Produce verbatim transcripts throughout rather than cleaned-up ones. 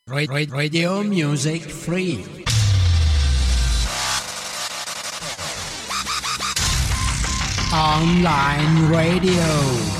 Ra- ra- Radio Music Free. Online radio.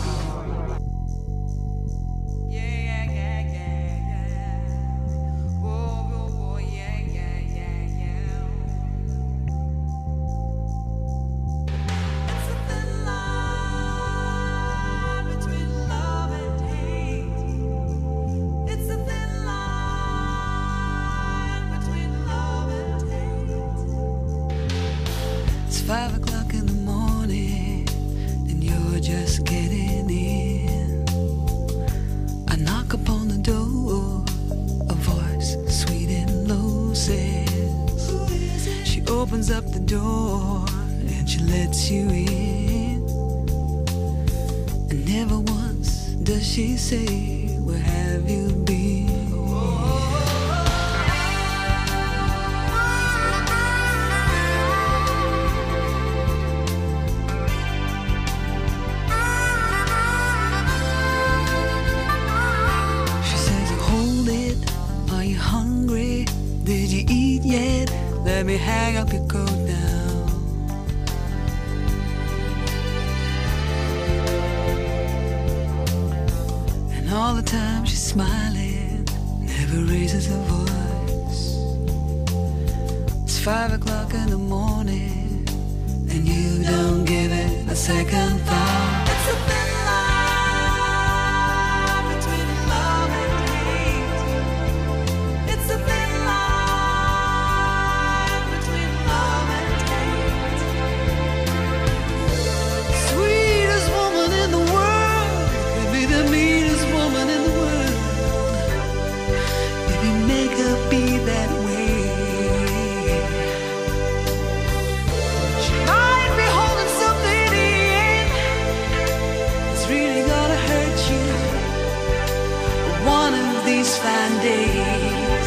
Five o'clock in the morning, and you're just getting in. I knock upon the door, a voice sweet and low says, she opens up the door and she lets you in. And never once does she say, where have you been? Did you eat yet? Let me hang up your coat now. And all the time she's smiling, never raises her voice. It's five o'clock in the morning, and you don't give it a second thought. It's a thin line between love and hate. It's a thin fine days.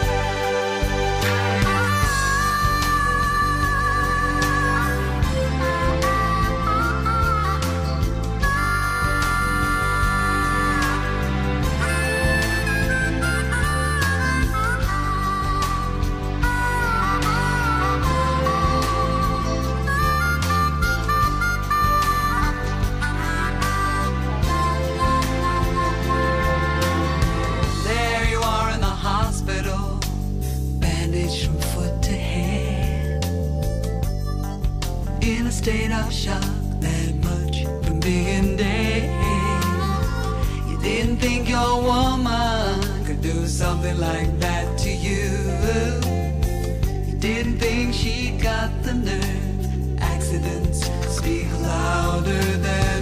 State of shock, that much from being dead. You didn't think your woman could do something like that to you. You didn't think she got the nerve. Accidents speak louder than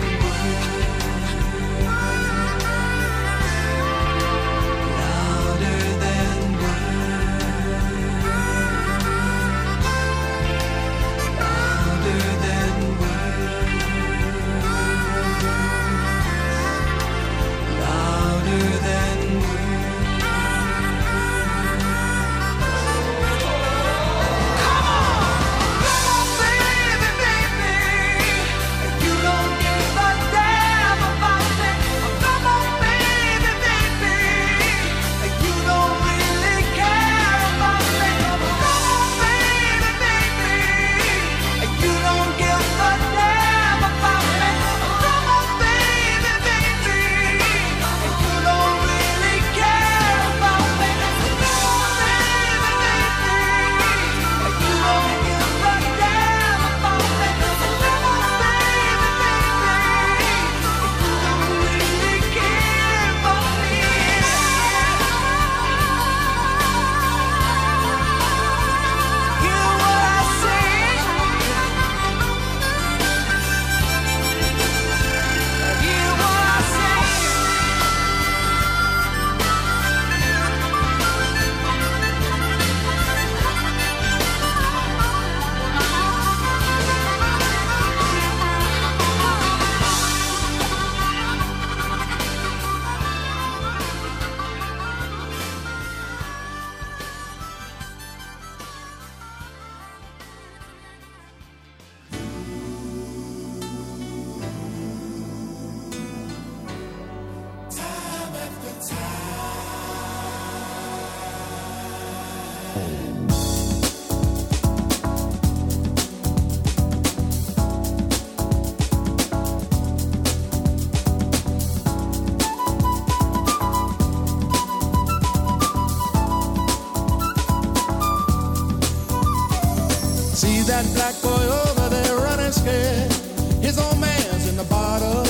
That black boy over there running scared. His old man's in the bottle.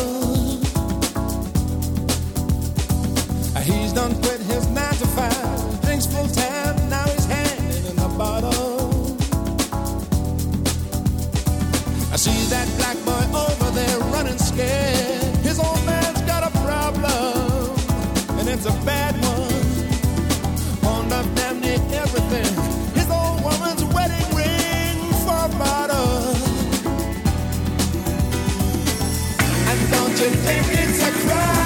He's done quit his nine to five. Drinks full time, now he's hanging in the bottle. I see that black boy over there running scared. His old man's got a problem, and it's a bad one. Pawned up damn near everything. His old woman's wedding ring. Bottle. And don't you think it's a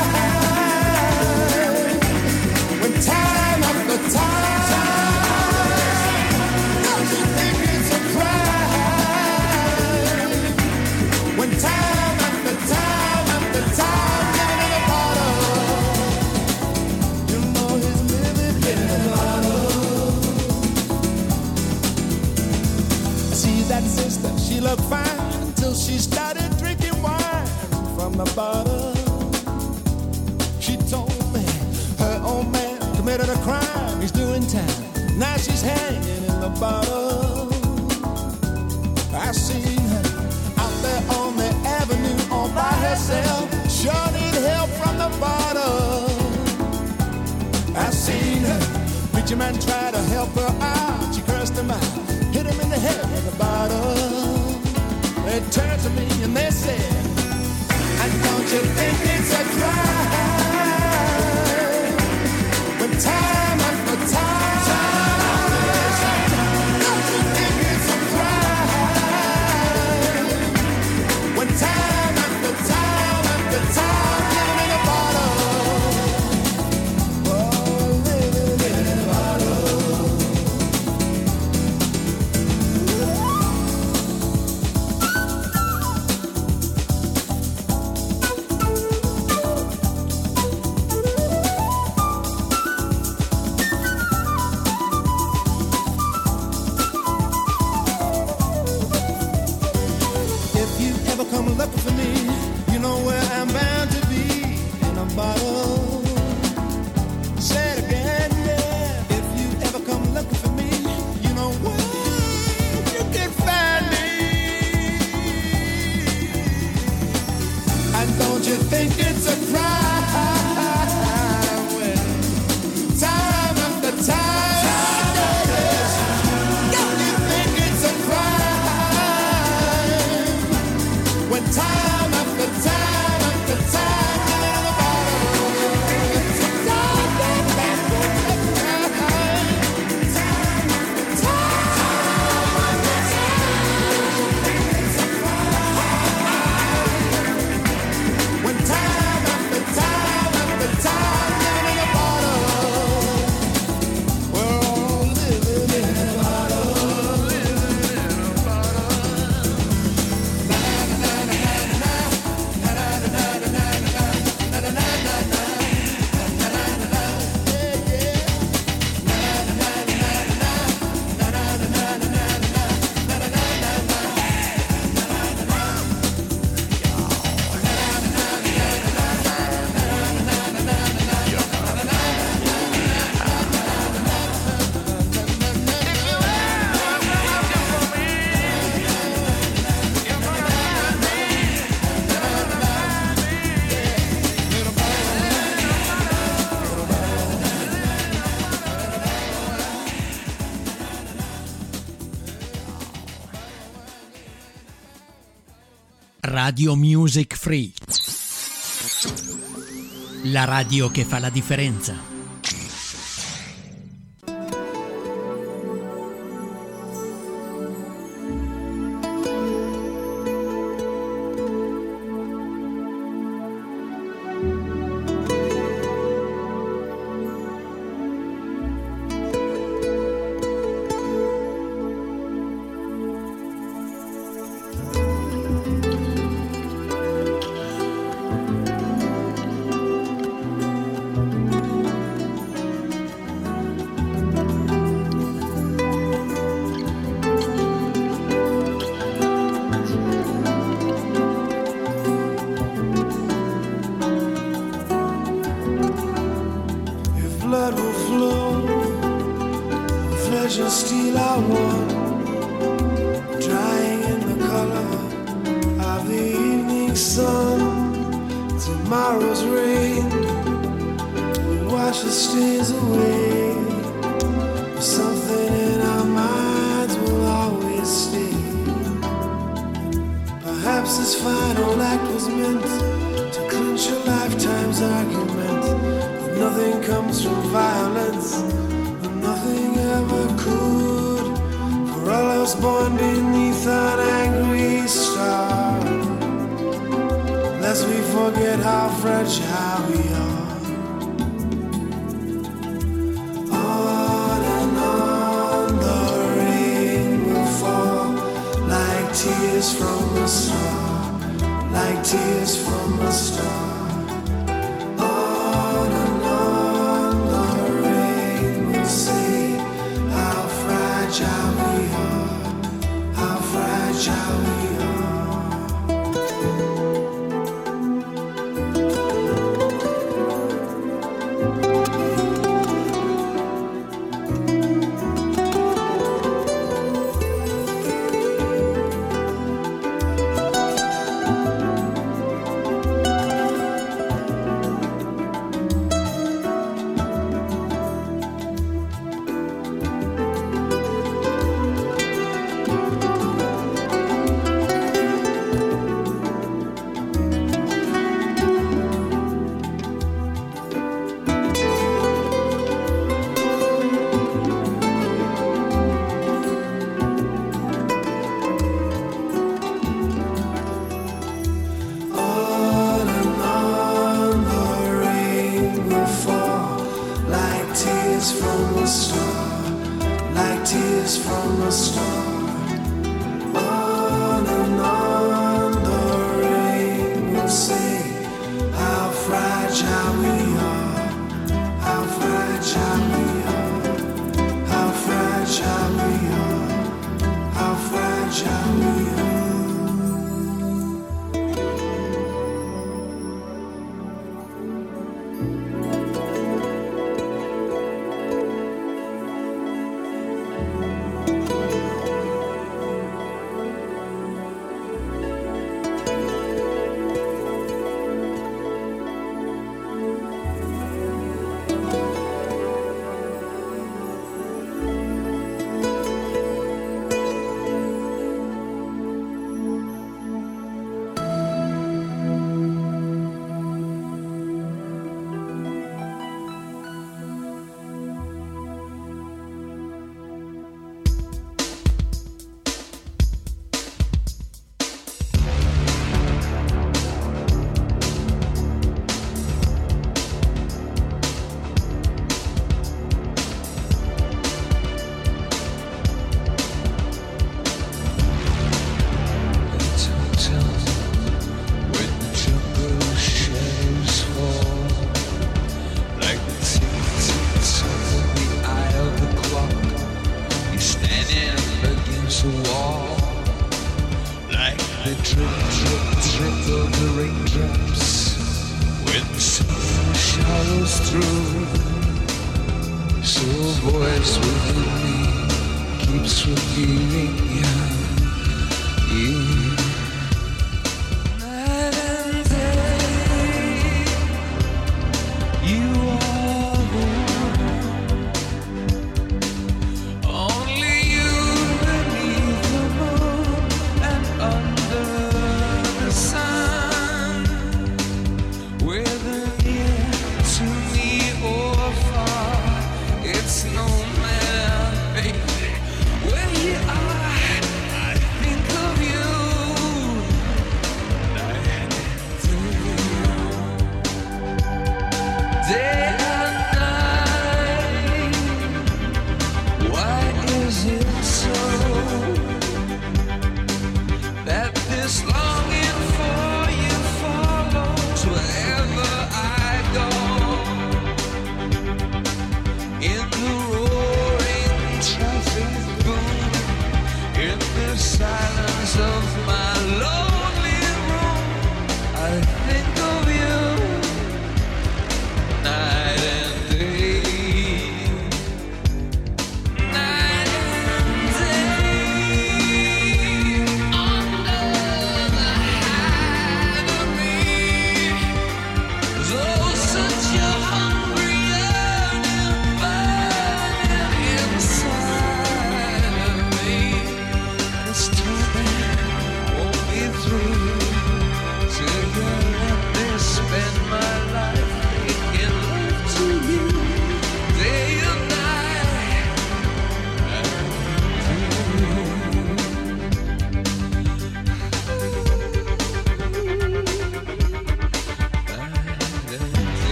crime when time after time? Don't you think it's a crime when time after time after time living in a bottle? You know he's living in a bottle. See that sister, she looked fine until she started drinking wine from the bottle. She told me her old man committed a crime, he's doing time. Now she's hanging in the bottle. I seen her out there on the avenue all by herself. Sure need help from the bottle. I seen her, preacher man try to help her out. She cursed him out, hit him in the head with a bottle. They turned to me and they said, and don't you think it's a crime when time after time, don't you think it's a crime when time after time after time living in a bottle. Oh, living in a bottle. Come looking for me, you know where I'm bound to be, in a bottle. Say it again, yeah. If you ever come looking for me, you know where you can find me. And don't you think it's a crime when time after time, don't you think it's a crime when time after time after time living in a bottle? It's a time after time, time after time, it's a crime when time after time after time living in a bottle. We're all living in a bottle, living in a bottle. Radio Music Free. La radio che fa la differenza. flood will flow, flesh and steel are one, drying in the color of the evening sun. Tomorrow's rain will wash the stains away, but something in our minds will always stay. Perhaps this final act was meant to clinch a lifetime's argument, that nothing comes from violence, and nothing ever could. For all I was born beneath an angry star, lest we forget how fragile we are. On and on the rain will fall, like tears from a star, like tears from a star. On and on the rain will say how fragile we are, how fragile we are. Where you are, I think of you.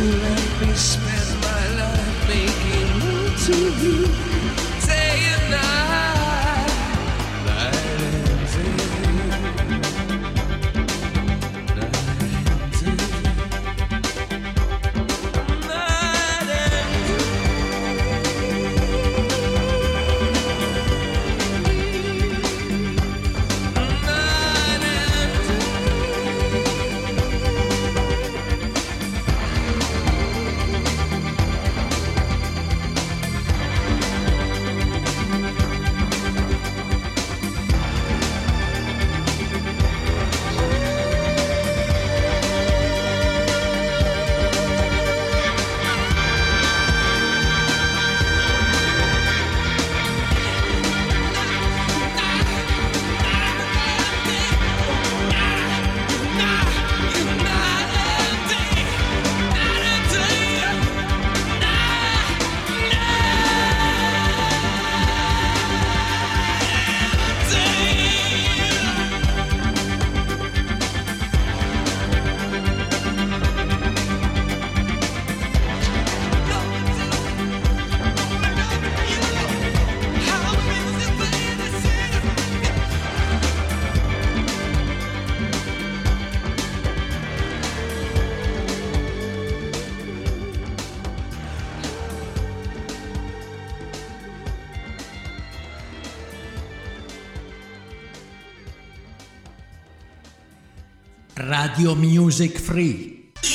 let me spend my life making love to you, day and night, night and day, night and day, night and Radio Music Free.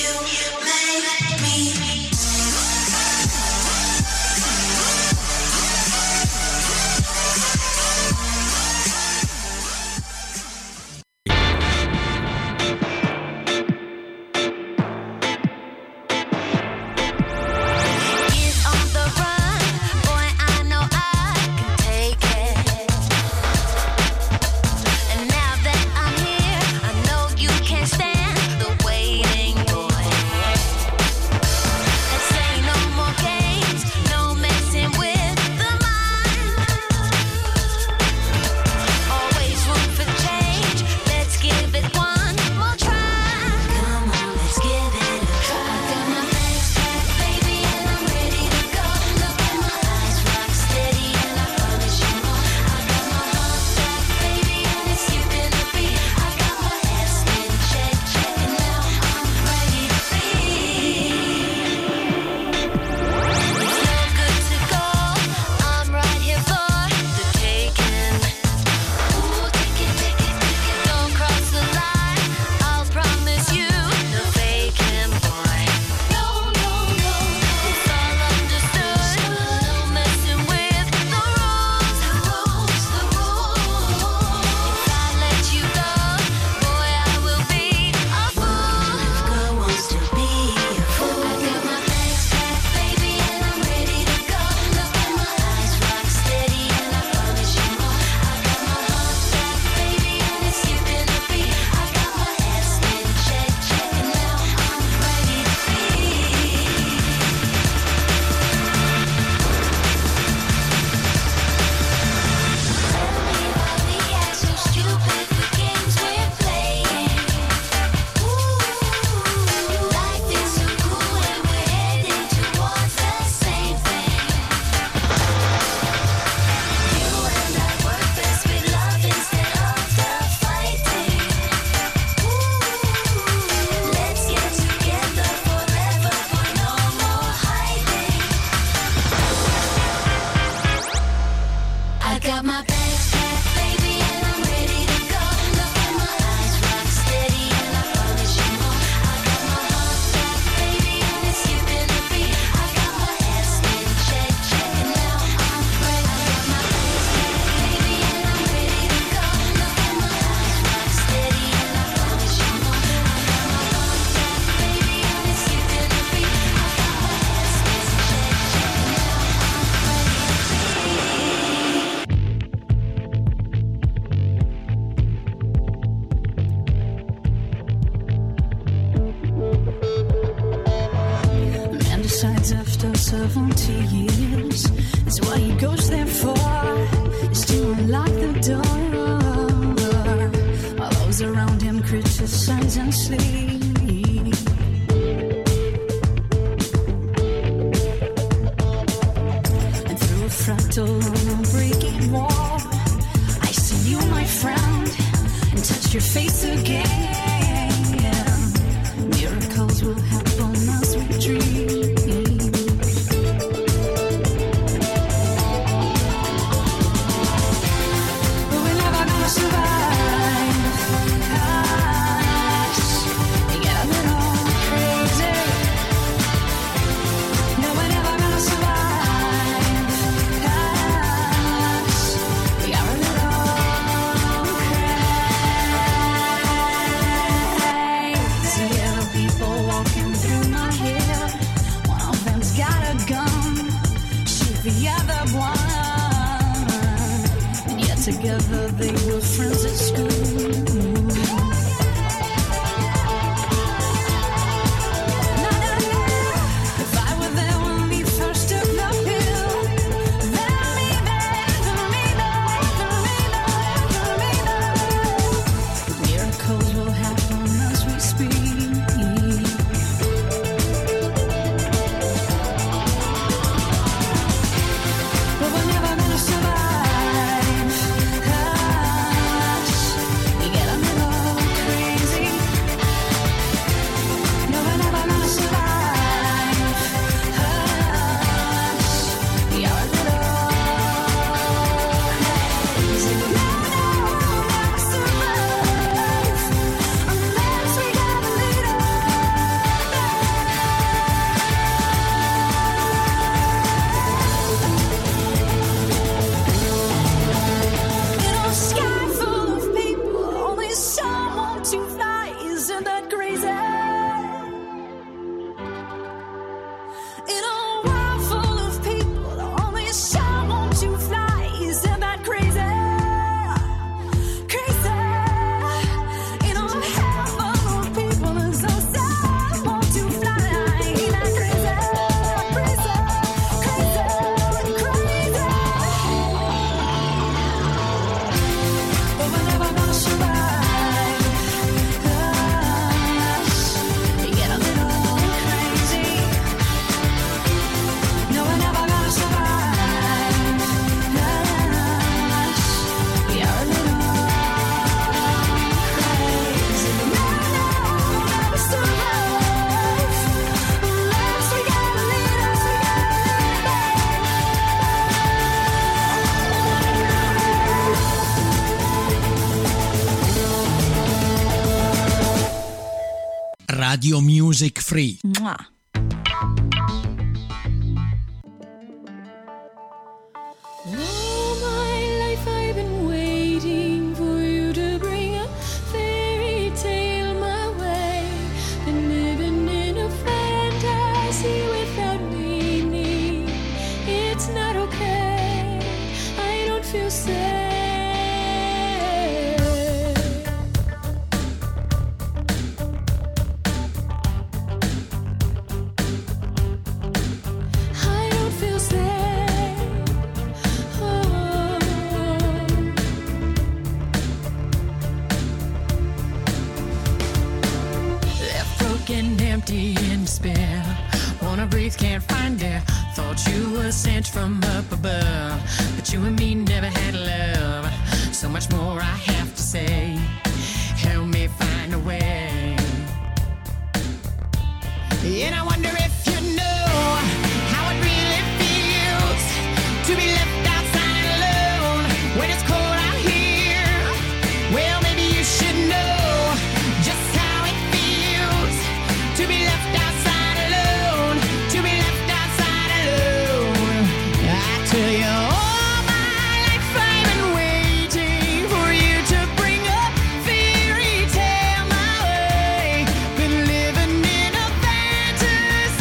seventy years is what he goes there for, is to unlock the door. While those around him criticize and sleep, your face again. Miracles will happen as we dream. But we're never gonna survive. Us, you get a little crazy. No, we're never gonna survive. Us, we are a little crazy. Other people walking through my head. One of them's got a gun, shoot the other one. And yet together they were friends at school. If I were there when we first took the pill, then maybe, then maybe, then maybe, then maybe miracles will happen as we speak. But we're never gonna survive. Us, you get a little crazy. No, we're never gonna survive. Us, we are a little crazy. No, no, we'll never survive unless we get a little. In a sky full of people, only someone to fly. Isn't that crazy? In a world full of people, only someone to fly. Isn't that crazy? Crazy. In a hell full of people, there's no someone to fly. Ain't that crazy? Crazy, crazy, crazy. But we're never gonna survive. Us, you get a little crazy. No, we're never gonna survive. Us, we are a little crazy. No, no, we'll never survive unless we get a little. Radio Music Free. Mua. All my life I've been waiting for you to bring a fairy tale my way. Been living in a fantasy without meaning. It's not okay. I don't feel safe. I don't feel safe. Oh. Left broken, empty, in despair. Wanna breathe, can't find air. Thought you were sent from up above, but you and me never had love. So much more I have to say. Help me find a way. And I wonder if you know how it really feels to be left outside alone when it's cold out here. Well, maybe you should know just how it feels to be left outside alone, to be left outside alone. I tell you, all my life I've been waiting for you to bring a fairy tale my way. Been living in a fantasy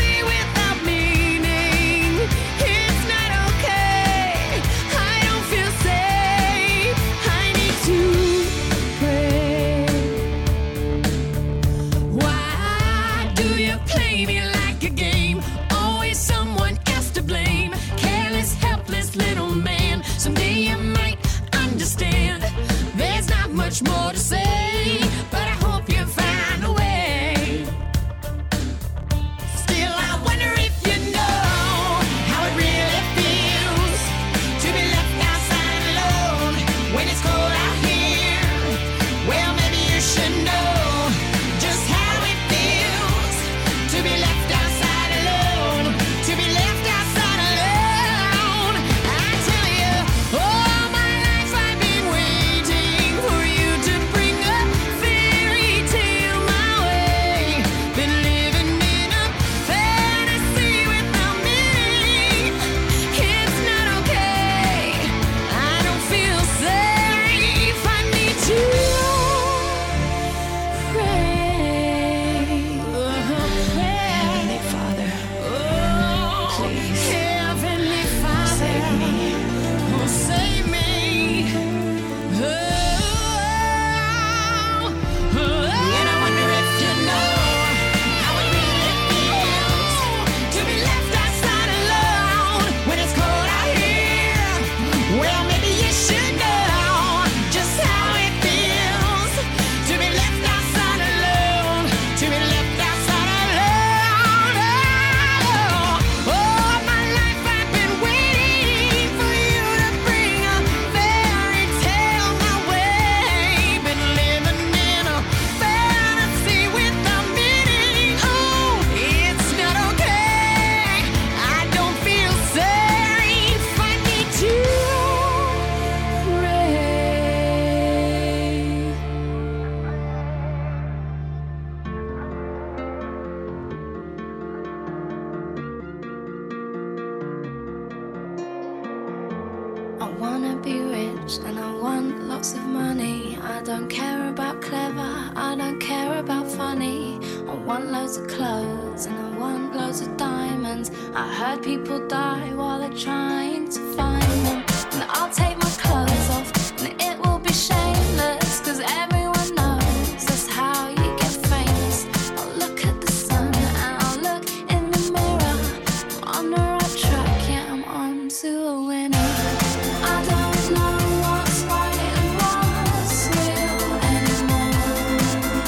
rich and I want lots of money. I don't care about clever, I don't care about funny. I want loads of clothes and I want loads of diamonds. I heard people die while they're trying to find them. And I'll take my clothes off and it will be shameless, cause everyone knows that's how you get famous. I'll look at the sun and I'll look in the mirror. I'm on the right track, yeah, I'm on to a winner. I don't know what's right and what's real anymore.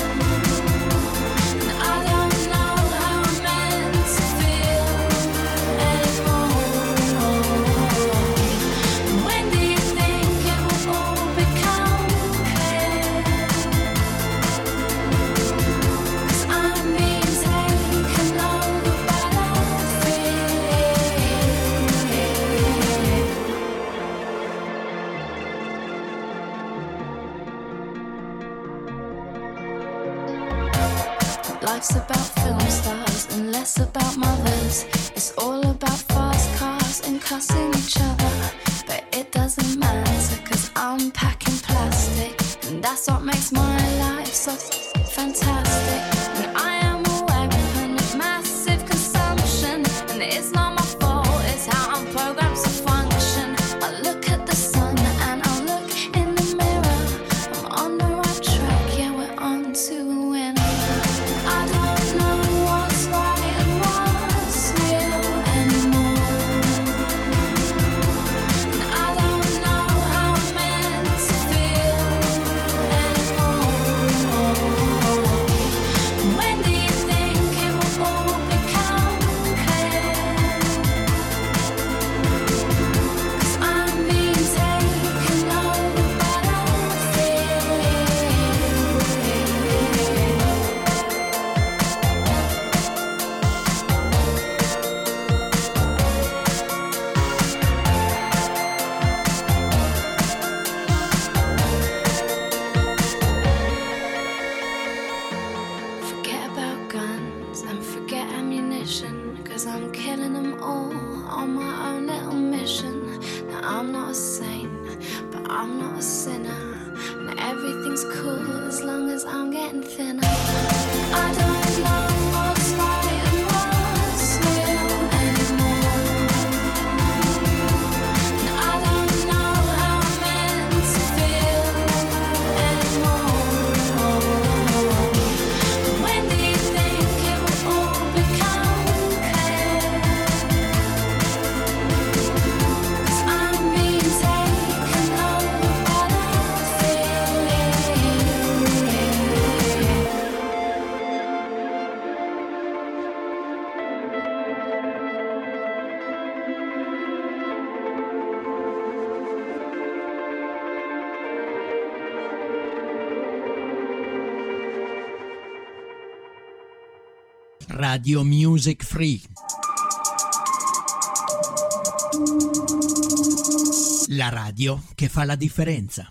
And I don't know how I'm meant to feel anymore. When do you think it will all become clear? 'Cause I'm being taken over by the fear. Life's about film stars and less about mothers. It's all about fast cars and cussing each other. But it doesn't matter, cause I'm packing plastic, and that's what makes my life so fantastic. And I am a weapon of massive consumption, and it's not my fault, it's how I'm programmed to function. I look at the sun and I look in the mirror. I'm on the right track, yeah, we're on to a winner. I don't know what's right and what's real anymore. And I don't know how I'm meant to feel anymore. When do you think it will all become clear? 'Cause I'm being taken over by the fear. Forget about guns and forget ammunition, 'cause I'm killing them all on my own little mission. Now I'm not a saint, but I'm not a sinner, and everything's cool as long as I'm getting thinner. I don't know what's right and what's real anymore. And I don't know how I'm meant to feel anymore. When do you think it will all become clear? 'Cause I'm being taken over by the fear. Radio Music Free. La radio che fa la differenza.